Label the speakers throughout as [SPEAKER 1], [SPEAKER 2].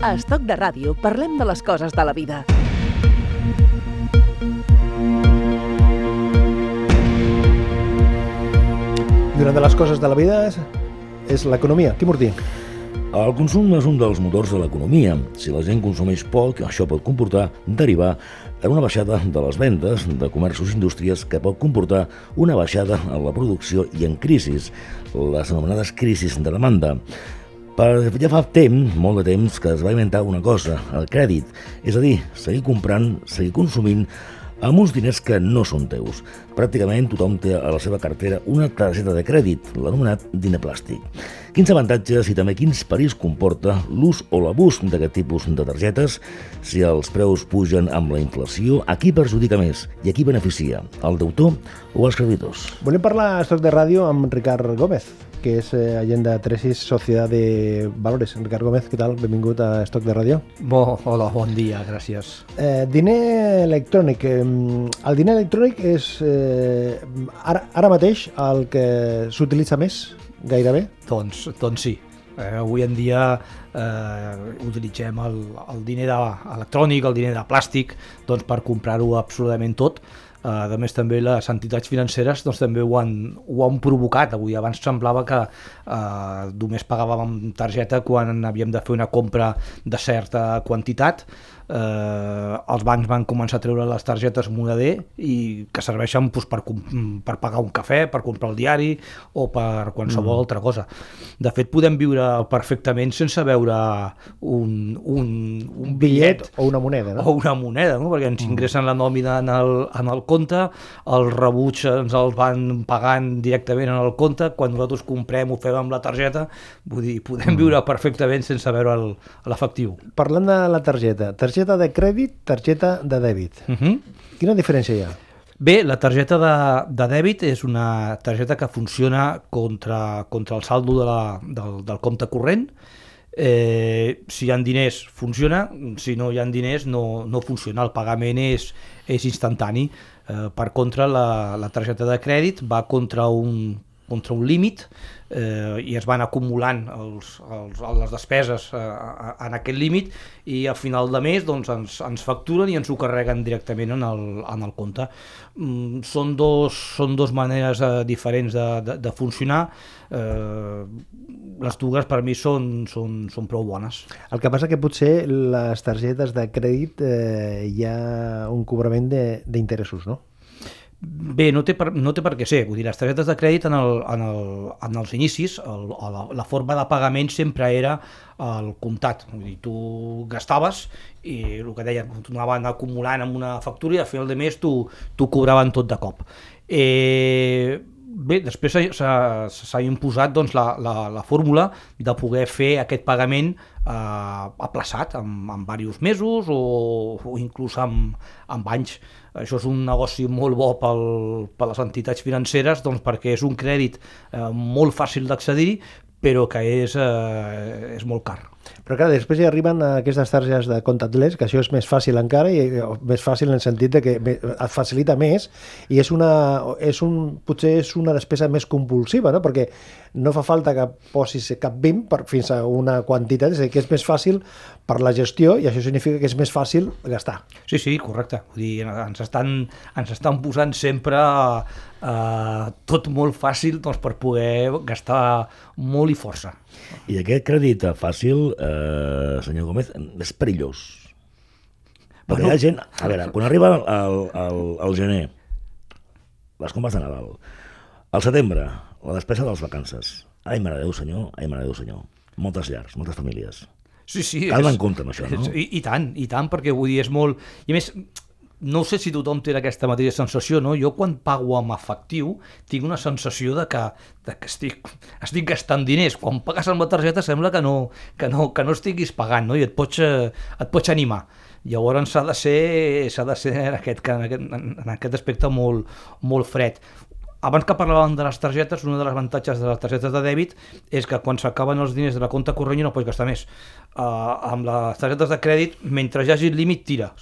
[SPEAKER 1] A Estoc de Ràdio parlem de les coses de la vida.
[SPEAKER 2] I una de les coses de la vida és l'economia. Quim Ortí.
[SPEAKER 3] El consum és un dels motors de l'economia. Si la gent consumeix poc, això pot comportar derivar en una baixada de les vendes de comerços i indústries que pot comportar una baixada en la producció i en crisis, les anomenades crisis de demanda. Ja fa temps, molt de temps, que es va inventar una cosa, el crèdit, és a dir, seguir comprant, seguir consumint amb uns diners que no són teus. Pràcticament tothom té a la seva cartera una targeta de crèdit, l'anomenat diner plàstic. Quins avantatges i també quins perills comporta l'ús o l'abús d'aquest tipus de targetes? Si els preus pugen amb la inflació, a qui perjudica més i a qui beneficia? Al deutor o als creditors?
[SPEAKER 2] Volem parlar a Estoc de Ràdio amb Ricard Gómez, que és agent de Tresis, Societat de Valores. Ricard Gómez, què tal? Benvingut a Estoc de Ràdio.
[SPEAKER 4] Hola, bon dia, gràcies.
[SPEAKER 2] Diner electrònic. El diner electrònic és ara mateix el que s'utilitza més, gairebé?
[SPEAKER 4] Doncs sí. Avui en dia utilitzem el diner electrònic, el diner de plàstic, doncs, per comprar-ho absolutament tot. A més, també les entitats financeres doncs, també ho han provocat. Avui abans semblava que només pagàvem amb targeta quan havíem de fer una compra de certa quantitat. Els bancs van començar a treure les targetes moneder i que serveixen doncs, per pagar un cafè, per comprar el diari o per qualsevol altra cosa. De fet, podem viure perfectament sense veure un bitllet
[SPEAKER 2] o una moneda, no?
[SPEAKER 4] O una moneda, no? Perquè ens ingressen la nòmina en el compte, el rebuig ens el van pagant directament en el compte, quan nosaltres comprem ho fem amb la targeta, vull dir, podem viure perfectament sense veure l'efectiu.
[SPEAKER 2] Parlant de la targeta de crèdit, targeta de dèbit. Quina diferència hi ha?
[SPEAKER 4] Bé, la targeta de dèbit és una targeta que funciona contra el saldo del compte corrent. Si hi ha diners funciona, si no hi ha diners no funciona, el pagament és instantani. Per contra, la targeta de crèdit va contra un límit i es van acumulant les despeses en aquest límit i al final de mes doncs, ens facturen i ens ho carreguen directament en el compte. Són dos maneres diferents de funcionar. Les dues per mi són prou bones.
[SPEAKER 2] El que passa que potser les targetes de crèdit hi ha un cobrament d'interessos, no?
[SPEAKER 4] Bé, no té per què ser. Vull dir, les targetes de crèdit en els inicis, la forma de pagament sempre era el comptat. Vull dir, tu gastaves i el que deia, t'ho anaven acumulant amb una factura i a final de mes t'ho cobraven tot de cop. Bé, després s'ha imposat doncs, la fórmula de poder fer aquest pagament aplaçat en diversos mesos o inclús amb anys. Això és un negoci molt bo per les entitats financeres, doncs, perquè és un crèdit molt fàcil d'accedir, però que és molt car.
[SPEAKER 2] Però clar, després hi arriben aquestes targetes de contactless, que això és més fàcil encara, i més fàcil en el sentit que et facilita més, i potser és una despesa més compulsiva, no? Perquè no fa falta que posis cap BIM fins a una quantitat, és a dir, que és més fàcil per la gestió, i això significa que és més fàcil gastar.
[SPEAKER 4] Sí, correcte. Vull dir, ens estan posant sempre tot molt fàcil doncs, per poder gastar molt i força.
[SPEAKER 3] I aquest crèdit fàcil, senyor Gómez, és perillós. Perquè hi ha gent... A veure, quan arriba el gener, les compres de Nadal, al setembre, la despesa de les vacances. Ai, mare de Déu, senyor. Moltes llars, moltes famílies.
[SPEAKER 4] Sí.
[SPEAKER 3] Cal anar en compte amb això, no?
[SPEAKER 4] I tant, perquè vull dir, és molt... I a més, no sé si tothom té aquesta mateixa sensació, no? Jo quan pago amb efectiu tinc una sensació de que estic gastant diners. Quan pagues amb la targeta sembla que no estiguis pagant, no? I et pots animar. Llavors s'ha de ser en aquest aspecte molt fred. Abans que parlàvem de les targetes, un dels avantatges de les targetes de dèbit és que quan s'acaben els diners de la compte corrent no pots gastar més. Amb les targetes de crèdit, mentre hi hagi límit, tires.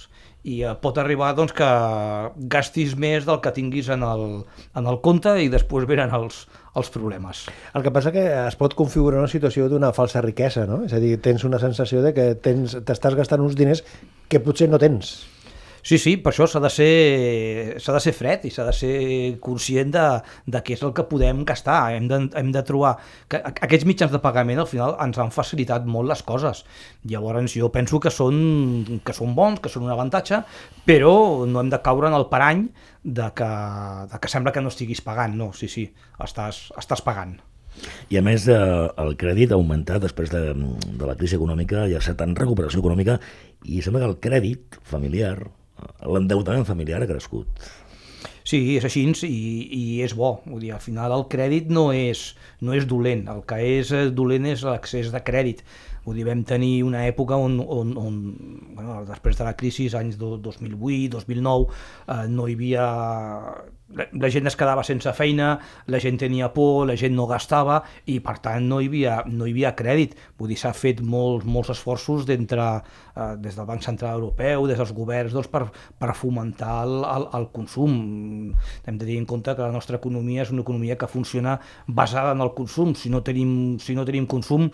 [SPEAKER 4] i pot arribar doncs, que gastis més del que tinguis en el compte i després venen els problemes.
[SPEAKER 2] El que passa que es pot configurar una situació d'una falsa riquesa, no? És a dir, tens una sensació de que t'estàs gastant uns diners que potser no tens.
[SPEAKER 4] Sí, per això s'ha de ser fred i s'ha de ser conscient de què és el que podem gastar. Hem de trobar... que aquests mitjans de pagament al final ens han facilitat molt les coses. Llavors jo penso que són bons, que són un avantatge, però no hem de caure en el parany de que sembla que no estiguis pagant. No, sí, estàs pagant.
[SPEAKER 3] I a més, el crèdit ha augmentat després de la crisi econòmica, hi ha certa recuperació econòmica i sembla que el crèdit familiar, l'endeutament familiar ha crescut.
[SPEAKER 4] Sí, és així i és bo. Vull dir, al final el crèdit no és dolent, el que és dolent és l'accés de crèdit. Vull dir, vam tenir una època on després de la crisi, anys 2008, 2009, no hi havia... La gent es quedava sense feina, la gent tenia por, la gent no gastava i per tant no hi havia crèdit. Vull dir, s'ha fet molts esforços des del Banc Central Europeu, des dels governs, doncs, per fomentar el consum. Hem de tenir en compte que la nostra economia és una economia que funciona basada en el consum. Si no tenim consum,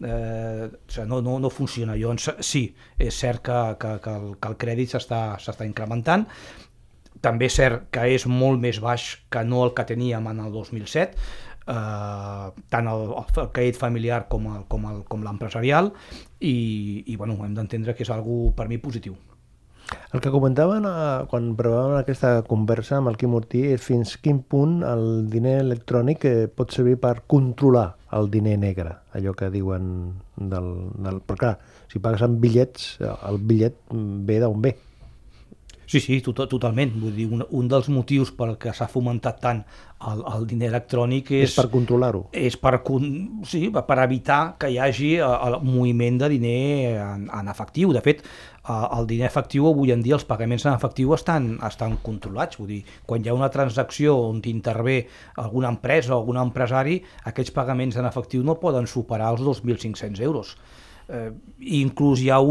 [SPEAKER 4] no funciona. Llavors sí, és cert que el crèdit s'està incrementant. També és cert que és molt més baix que no el que teníem en el 2007, tant el crèdit familiar com l'empresarial, i hem d'entendre que és algo per mi positiu.
[SPEAKER 2] El que comentaven quan provàvem aquesta conversa amb el Quim Ortí és fins quin punt el diner electrònic pot servir per controlar el diner negre, allò que diuen però clar, si pagues amb bitllets, el bitllet ve d'on ve.
[SPEAKER 4] Sí, totalment. Vull dir, un dels motius per què s'ha fomentat tant el diner electrònic és
[SPEAKER 2] per controlar-ho.
[SPEAKER 4] És per evitar que hi hagi el moviment de diner en efectiu. De fet, el diner efectiu avui en dia, els pagaments en efectiu estan controlats. Vull dir, quan hi ha una transacció on intervé alguna empresa o algun empresari, aquests pagaments en efectiu no poden superar els 2.500 euros. Inclús hi ha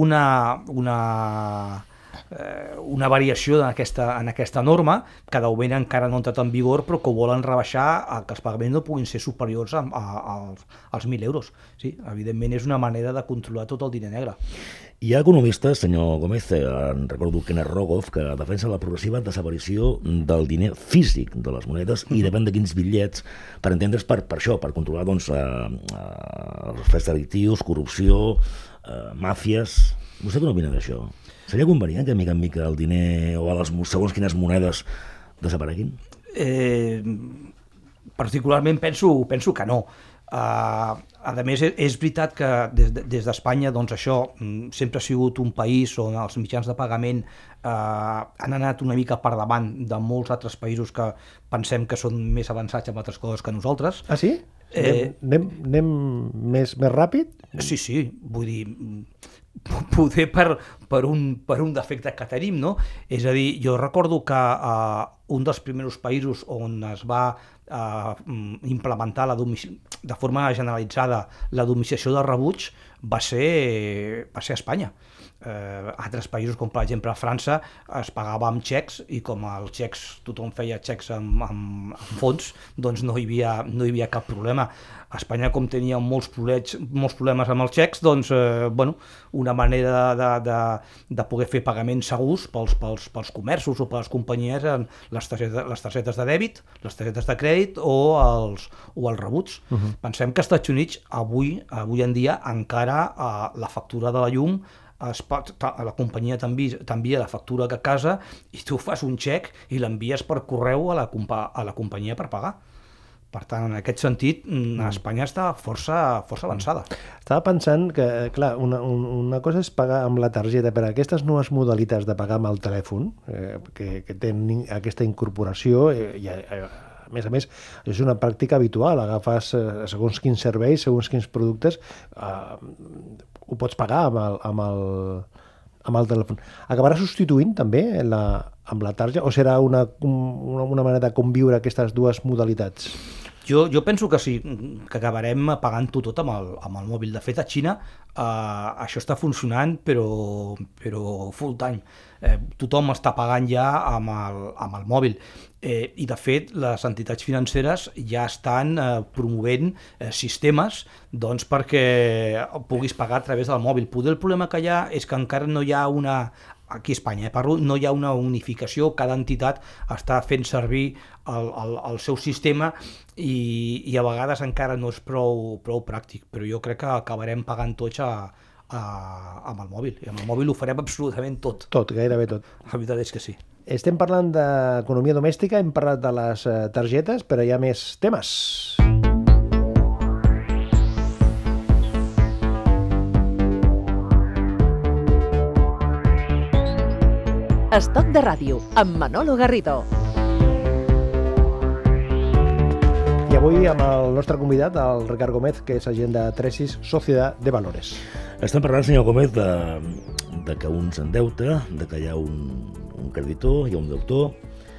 [SPEAKER 4] una variació en aquesta norma, que de moment encara no ha entrat en vigor, però que ho volen rebaixar que els pagaments no puguin ser superiors als 1.000 euros. Sí, evidentment és una manera de controlar tot el diner negre.
[SPEAKER 3] Hi ha economistes, senyor Gómez, recordo Kenneth Rogoff, que defensa la progressiva desaparició del diner físic de les monedes i depèn de quins bitllets, per entendre's per això, per controlar els fets delictius, corrupció, màfies. Vostè què n'opina d'això? Seria convenient que mica en mica el diner o segons quines monedes desapareguin?
[SPEAKER 4] Particularment penso que no. A més, és veritat que des d'Espanya això sempre ha sigut un país on els mitjans de pagament han anat una mica per davant de molts altres països que pensem que són més avançats en altres coses que nosaltres.
[SPEAKER 2] Ah, sí? Anem més ràpid?
[SPEAKER 4] Sí, vull dir, poder per un defecte que tenim, no? És a dir, jo recordo que un dels primers països on es va implementar de forma generalitzada la domiciliació de rebuig va ser Espanya. Altres països, com per exemple a França, es pagava amb xecs i com els xecs, tothom feia xecs amb fons, doncs no hi havia cap problema. A Espanya, com tenia molts problemes amb els xecs, doncs, una manera de poder fer pagaments segurs pels comerços o per les companyies eren les targetes de dèbit, les targetes de crèdit o els rebuts. Pensem que als Estats Units avui en dia encara la factura de la llum la companyia t'envia la factura a casa i tu fas un xec i l'envies per correu a la companyia per pagar. Per tant, en aquest sentit, Espanya està força avançada.
[SPEAKER 2] Estava pensant que, clar, una cosa és pagar amb la targeta, però aquestes noves modalitats de pagar amb el telèfon, que tenen aquesta incorporació, a més, és una pràctica habitual. Agafes segons quins serveis, segons quins productes, ho pots pagar amb el telèfon. Acabarà substituint també amb la targeta o serà una manera de conviure aquestes dues modalitats?
[SPEAKER 4] Jo penso que sí, que acabarem pagant-ho tot amb el mòbil. De fet, a Xina això està funcionant, però full time. Tothom està pagant ja amb el mòbil. I, de fet, les entitats financeres ja estan promovent sistemes perquè puguis pagar a través del mòbil. Poder el problema que hi ha és que encara no hi ha aquí a Espanya, no hi ha una unificació, cada entitat està fent servir el seu sistema i a vegades encara no és prou pràctic, però jo crec que acabarem pagant tots amb el mòbil, i amb el mòbil ho farem absolutament tot.
[SPEAKER 2] Tot, gairebé tot.
[SPEAKER 4] La veritat és que sí.
[SPEAKER 2] Estem parlant d'economia domèstica, hem parlat de les targetes, però hi ha més temes.
[SPEAKER 1] Estoc de ràdio, amb Manolo Garrido.
[SPEAKER 2] I avui amb el nostre convidat, el Ricard Gómez, que és agent de Tresis Sociedad de Valores.
[SPEAKER 3] Estem parlant, senyor Gómez, de que un s'endeuta, de que hi ha un creditor, hi ha un deutor,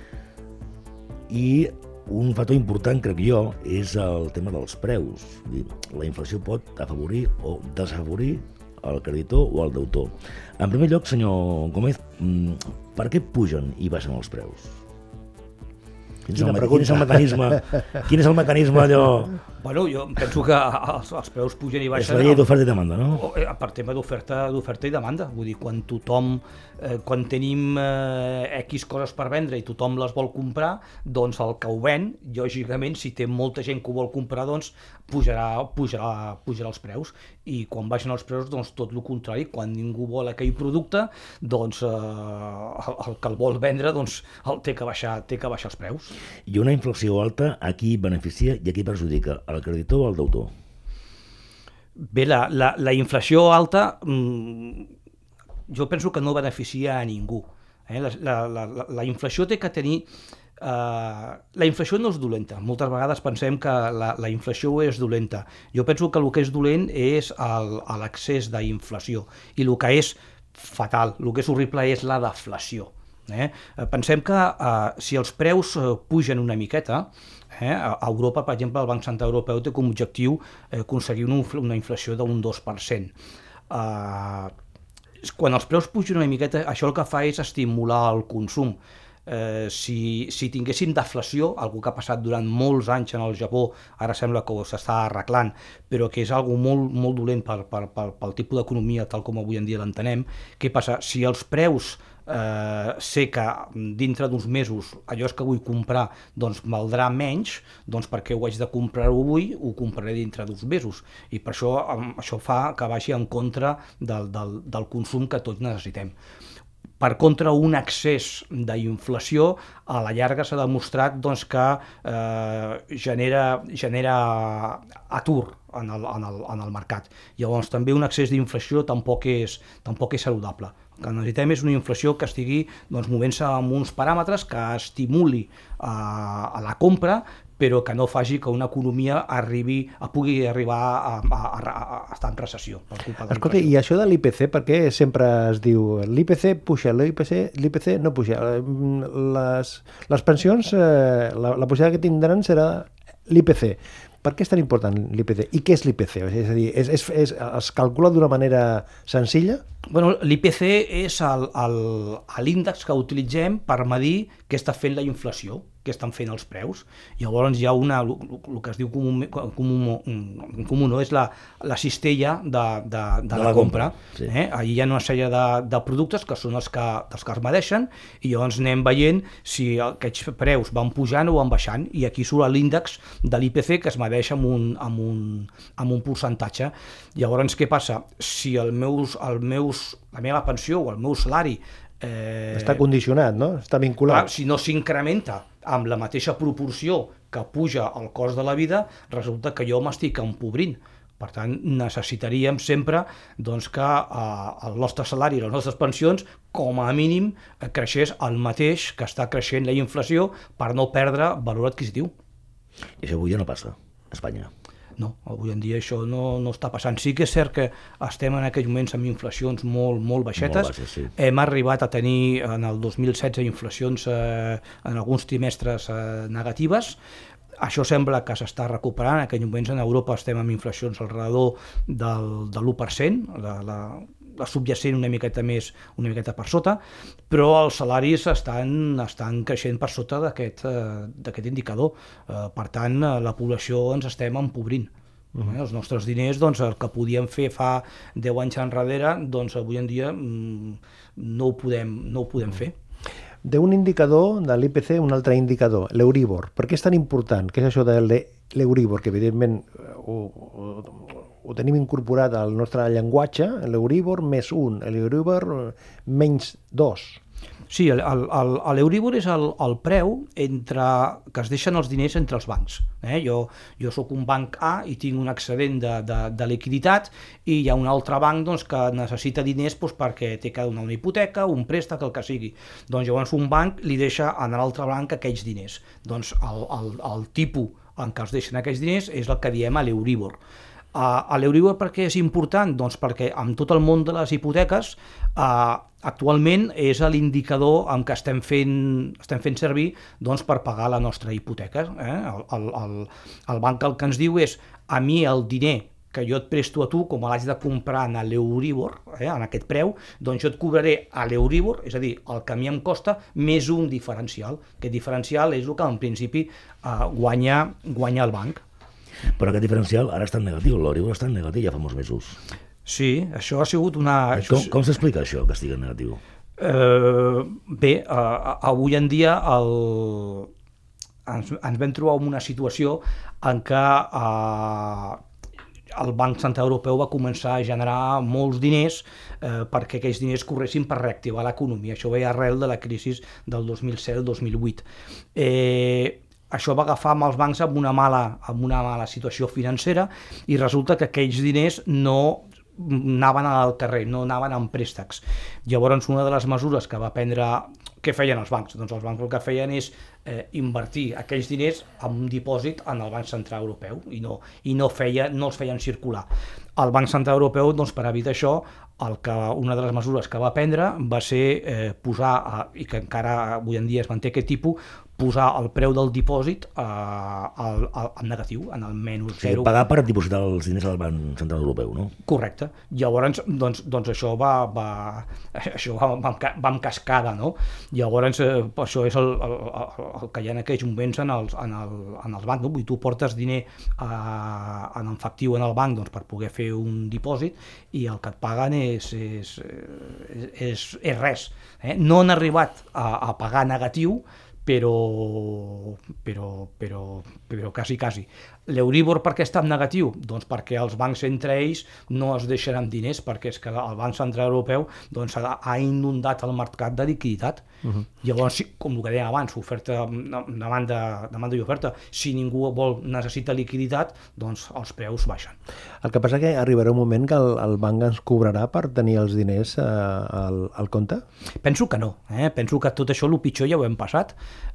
[SPEAKER 3] i un factor important, crec jo, és el tema dels preus. La inflació pot afavorir o desafavorir el creditor o el deutor. En primer lloc, senyor Gómez, per què pugen i baixen els preus? Quin és el mecanisme allò?
[SPEAKER 4] Bueno, jo penso que els preus pugen i baixen...
[SPEAKER 3] És la llei d'oferta i demanda, no?
[SPEAKER 4] Per tema d'oferta i demanda. Vull dir, quan tenim X coses per vendre i tothom les vol comprar, doncs el que ho ven, lògicament, si té molta gent que ho vol comprar, doncs pujarà els preus. I quan baixen els preus, doncs tot el contrari. Quan ningú vol aquell producte, doncs el que el vol vendre, doncs té que baixar els preus.
[SPEAKER 3] I una inflació alta, a qui beneficia i a qui perjudica? Al creditor o al deutor?
[SPEAKER 4] Bé, la inflació alta jo penso que no beneficia a ningú. La inflació té que tenir... La inflació no és dolenta. Moltes vegades pensem que la inflació és dolenta. Jo penso que el que és dolent és l'excés d'inflació. I el que és fatal, el que és horrible és la deflació. Pensem que si els preus pugen una miqueta, a Europa, per exemple, el Banc Central Europeu té com a objectiu aconseguir una inflació d'un 2%. Quan els preus pugen una miqueta, això el que fa és estimular el consum. Si tinguéssim deflació, algo que ha passat durant molts anys en el Japó, ara sembla que s'està arreglant, però que és algo molt, molt dolent pel tipus d'economia tal com avui en dia l'entenem, què passa? Si els preus sé que dintre d'uns mesos allò que vull comprar doncs valdrà menys, doncs perquè ho haig de comprar-ho avui, ho compraré dintre d'uns mesos, i per això fa que vagi en contra del consum que tots necessitem. Per contra, un excés d'inflació a la llarga s'ha demostrat que genera atur en el mercat. Llavors també un excés d'inflació tampoc és saludable. El que necessitem és una inflació que estigui movent-se amb uns paràmetres que estimuli a la compra, però que no faci que una economia pugui arribar a estar en recessió.
[SPEAKER 2] Escolta, i això de l'IPC, per què sempre es diu l'IPC puja, l'IPC no puja? Les pensions, la pujada que tindran serà l'IPC. Per què és tan important l'IPC? I què és l'IPC? És a dir, es calcula d'una manera senzilla?
[SPEAKER 4] Bueno, l'IPC és l'índex que utilitzem per medir què està fent la inflació, què estan fent els preus. Llavors hi ha el que es diu comú, és la cistella de la compra.
[SPEAKER 3] Sí.
[SPEAKER 4] Allà hi ha una sèrie de productes que són els que es medeixen, i llavors anem veient si aquests preus van pujant o van baixant, i aquí surt l'índex de l'IPC que es medeix amb un percentatge. Llavors què passa? Si la meva pensió o el meu salari
[SPEAKER 2] està condicionat, no? Està vinculat.
[SPEAKER 4] Si no s'incrementa amb la mateixa proporció que puja el cost de la vida, resulta que jo m'estic empobrint. Per tant, necessitaríem sempre que el nostre salari i les nostres pensions, com a mínim, creixés el mateix que està creixent la inflació per no perdre valor adquisitiu.
[SPEAKER 3] I això avui ja no passa a Espanya.
[SPEAKER 4] No, avui en dia això no està passant. Sí que és cert que estem en aquells moments amb inflacions molt baixetes.
[SPEAKER 3] Molt baixes, sí.
[SPEAKER 4] Hem arribat a tenir en el 2016 inflacions en alguns trimestres negatives. Això sembla que s'està recuperant. En aquells moments en Europa estem amb inflacions al redador de l'1%, la subjacent una miqueta per sota, però els salaris estan creixent per sota d'aquest indicador. Per tant, la població ens estem empobrint. Els nostres diners, doncs, el que podíem fer fa 10 anys enrere, doncs avui en dia no ho podem fer.
[SPEAKER 2] D'un indicador de l'IPC, un altre indicador, l'Euríbor. Per què és tan important? Què és això de l'Euríbor? Que evidentment ho tenim incorporat al nostre llenguatge, l'Euríbor més 1, l'Euríbor menys 2.
[SPEAKER 4] Sí, l'Euríbor és el preu que es deixen els diners entre els bancs. Jo soc un banc A i tinc un excedent de liquiditat i hi ha un altre banc, doncs, que necessita diners, doncs, perquè té que donar una hipoteca, un préstec, el que sigui. Doncs llavors un banc li deixa a l'altre banc aquells diners. Doncs el tipus en què es deixen aquells diners és el que diem a l'Euríbor. L'Euríbor per què és important? Doncs perquè amb tot el món de les hipoteques actualment és l'indicador amb què estem fent servir, doncs, per pagar la nostra hipoteca. El banc el que ens diu és: a mi el diner que jo et presto a tu, com l'haig de comprar en l'Euríbor, en aquest preu, doncs jo et cobraré a l'Euríbor, és a dir, el que a mi em costa, més un diferencial. Aquest diferencial és el que en principi guanya el banc.
[SPEAKER 3] Però aquest diferencial ara està en negatiu, l'Euríbor està en negatiu ja fa molts mesos.
[SPEAKER 4] Sí, això ha sigut una...
[SPEAKER 3] Com s'explica això, que estigui en negatiu?
[SPEAKER 4] Bé, avui en dia ens vam trobar en una situació en què el Banc Central Europeu va començar a generar molts diners perquè aquells diners corressin per reactivar l'economia. Això ve arrel de la crisi del 2007-2008. Això va agafar amb els bancs amb una mala situació financera i resulta que aquells diners no anaven al carrer, no anaven en préstecs. Llavors, una de les mesures que va prendre... Què feien els bancs? Doncs els bancs el que feien és invertir aquells diners en un dipòsit en el Banc Central Europeu i no els feien circular. El Banc Central Europeu, doncs, per evitar això, una de les mesures que va prendre va ser posar, i que encara avui en dia es manté aquest tipus, posar el preu del dipòsit en negatiu, en el menys 0.
[SPEAKER 3] Pagar per dipositar els diners al Banc Central Europeu, no?
[SPEAKER 4] Correcte. Llavors, doncs això va en cascada, no? Llavors, això és el que hi ha en aquells moments en els bancs, no? Tu portes diner en efectiu en el banc, doncs, per poder fer un dipòsit i el que et paguen és res. No han arribat a pagar negatiu, però quasi. L'Euríbor per què està en negatiu? Doncs perquè els bancs entre ells no es deixen amb diners, perquè és que el Banc Central Europeu, doncs, ha inundat el mercat de liquiditat. Llavors, com el que dèiem abans, demanda i oferta, si ningú necessita liquiditat, doncs els preus baixen.
[SPEAKER 2] El que passa que arribarà un moment que el banc ens cobrarà per tenir els diners al compte? Penso
[SPEAKER 4] que no. Penso que tot això, el pitjor, ja ho hem passat.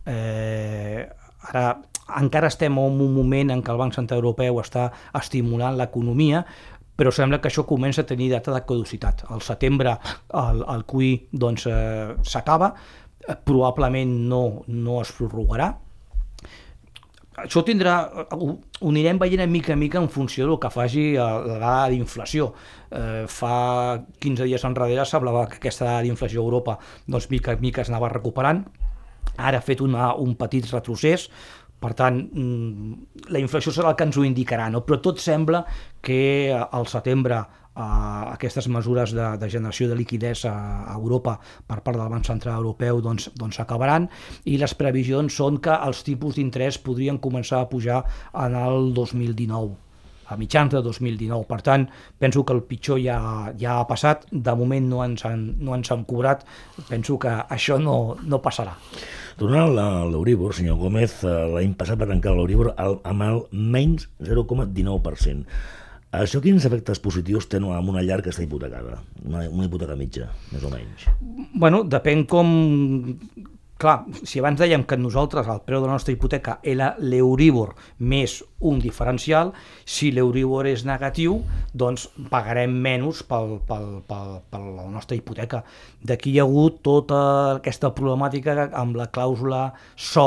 [SPEAKER 4] Ara encara estem en un moment en què el Banc Central Europeu està estimulant l'economia, però sembla que això comença a tenir data de caducitat. Al setembre el QE doncs, s'acaba, probablement no es prorrogarà. Això ho anirem veient a mica en funció del que faci la dada d'inflació. Fa 15 dies enrere s'hablava que aquesta dada d'inflació a Europa doncs, mica en mica es anava recuperant. Ara ha fet un petit retrocés, per tant, la inflació serà el que ens ho indicarà, no? Però tot sembla que al setembre aquestes mesures de generació de liquiditat a Europa per part del Banc Central Europeu doncs s'acabaran i les previsions són que els tipus d'interès podrien començar a pujar en el 2019. A mitjans de 2019. Per tant, penso que el pitjor ja ha passat. De moment no ens han cobrat. Penso que això no passarà.
[SPEAKER 3] Tornant a l'Euríbor, senyor Gómez, l'any passat va tancar l'Euríbor amb el menys 0,19%. Això quins efectes positius té amb una llar que està hipotecada? Una hipoteca mitja, més o menys.
[SPEAKER 4] Bueno, depèn com... Clar, si abans dèiem que nosaltres el preu de la nostra hipoteca era l'Euríbor més un diferencial, si l'Euríbor és negatiu, doncs pagarem menys per la nostra hipoteca. D'aquí hi ha hagut tota aquesta problemàtica amb la clàusula sol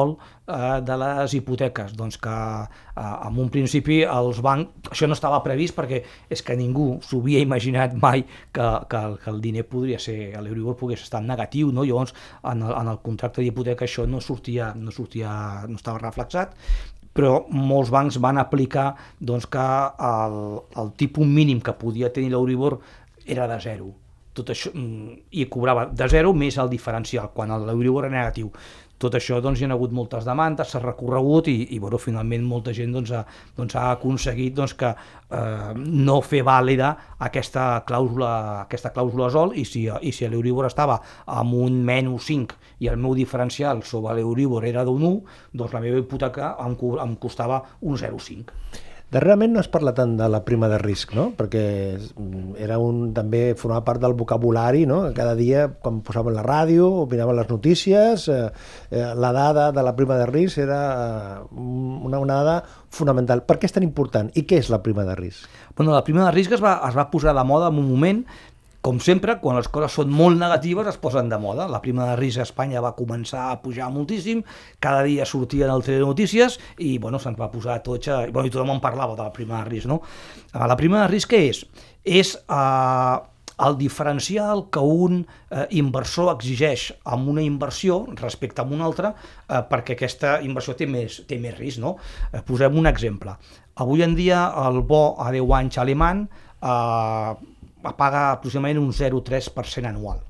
[SPEAKER 4] de les hipoteques, doncs que en un principi els bancs, això no estava previst perquè és que ningú s'havia imaginat mai que el diner podria ser, l'Euribor pogués estar en negatiu, no? Llavors en el contracte d'hipoteca això no estava reflexat, però molts bancs van aplicar doncs, que el tipus mínim que podia tenir l'Euribor era de 0. Tot això, i cobrava de 0 més el diferencial, quan l'Euribor era negatiu. Tot això doncs, hi ha hagut moltes demandes, s'ha recorregut i bueno, finalment molta gent ha aconseguit que no fer vàlida aquesta clàusula sol i si l'Euribor estava amb un -5 i el meu diferencial sobre l'Euribor era d'un 1, doncs la meva hipoteca em costava un 0,5.
[SPEAKER 2] Darrerament no es parla tant de la prima de risc, no? Perquè també formava part del vocabulari, no? Cada dia, quan posaven la ràdio o miraven les notícies, la dada de la prima de risc era una dada fonamental. Per què és tan important? I què és la prima de risc?
[SPEAKER 4] Bueno, la prima de risc es va posar de moda en un moment. Com sempre, quan les coses són molt negatives es posen de moda. La prima de risc a Espanya va començar a pujar moltíssim, cada dia sortien al telenotícies i bueno, se'ns va posar a tots, i tothom en parlava de la prima de risc. No? La prima de risc què és? És el diferencial que un inversor exigeix amb una inversió respecte a una altra perquè aquesta inversió té més risc. No? Posem un exemple. Avui en dia el bo a 10 anys alemany paga aproximadament un 0,3% anual.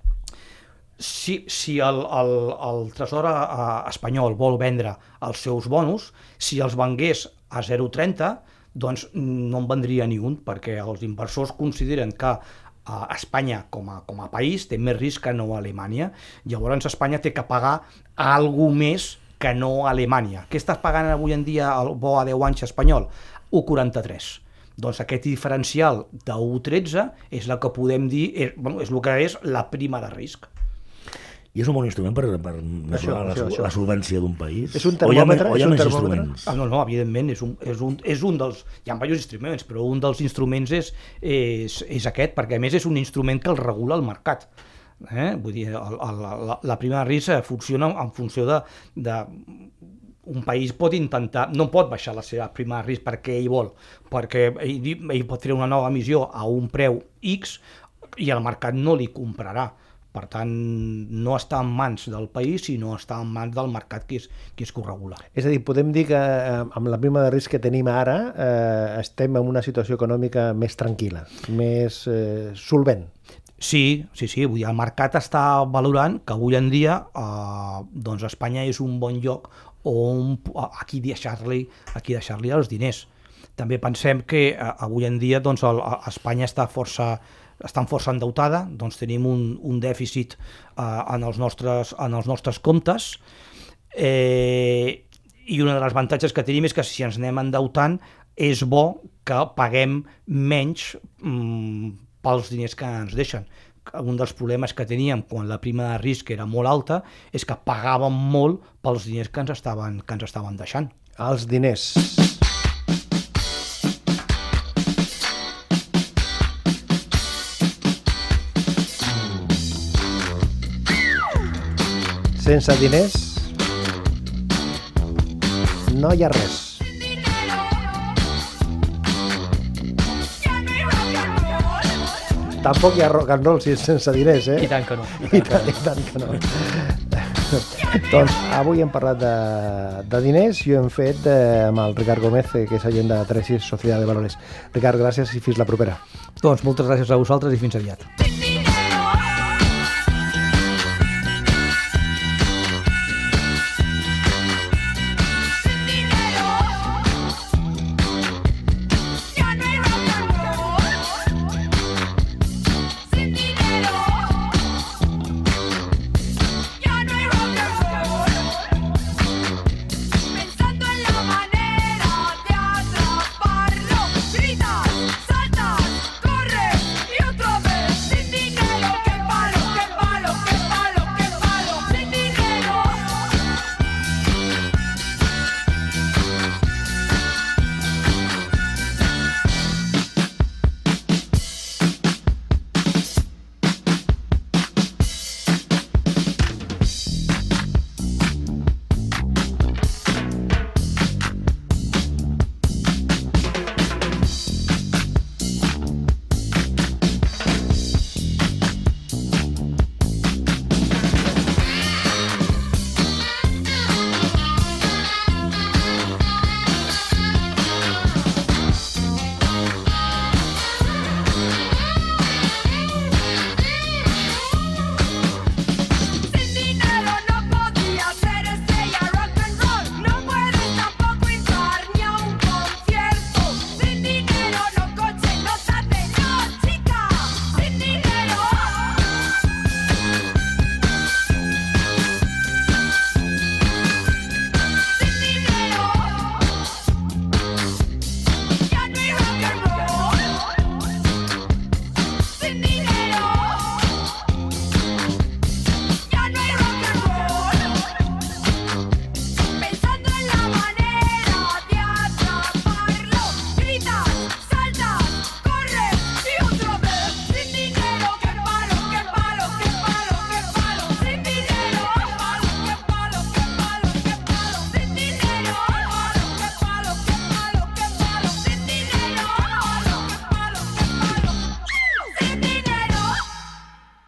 [SPEAKER 4] Si el Tresor espanyol vol vendre els seus bonos, si els vengués a 0,30, doncs no en vendria ni un, perquè els inversors consideren que Espanya com a país té més risc que no a Alemanya. Llavors Espanya té que pagar alguna més que no a Alemanya. Què estàs pagant avui en dia el bo a 10 anys espanyol? 1,43. Doncs aquest diferencial de 1,13 és el que podem dir, és el que és la prima de risc.
[SPEAKER 3] I és un bon instrument per mesurar la solvència d'un país?
[SPEAKER 2] És un termòmetre?
[SPEAKER 3] O hi ha més instruments?
[SPEAKER 4] No, evidentment, és un dels... Hi ha diversos instruments, però un dels instruments és aquest, perquè a més és un instrument que el regula el mercat. Vull dir, la prima de risc funciona en funció de un país pot intentar, no pot baixar la seva prima de risc perquè ell vol, perquè ell pot treure una nova emissió a un preu X i el mercat no li comprarà. Per tant, no està en mans del país, sinó està en mans del mercat que és qui ho regula.
[SPEAKER 2] És a dir, podem dir que amb la prima de risc que tenim ara estem en una situació econòmica més tranquil·la, més solvent.
[SPEAKER 4] Sí, vull dir, el mercat està valorant que avui en dia doncs Espanya és un bon lloc on a qui deixar-li els diners. També pensem que avui en dia doncs, Espanya està força endeutada, doncs tenim un dèficit en els nostres comptes i un dels avantatges que tenim és que si ens anem endeutant és bo que paguem menys pels diners que ens deixen. Un dels problemes que teníem quan la prima de risc era molt alta és que pagàvem molt pels diners que ens estaven deixant.
[SPEAKER 2] Els diners. Sense diners no hi ha res. Tampoc hi ha rock and roll sense diners,
[SPEAKER 4] I tant que no.
[SPEAKER 2] I tant que no. Doncs avui hem parlat de diners i ho hem fet amb el Ricard Gómez, que és agent de Tresis Sociedad de Valores. Ricard, gràcies i fins la propera.
[SPEAKER 4] Doncs moltes gràcies a vosaltres i fins aviat.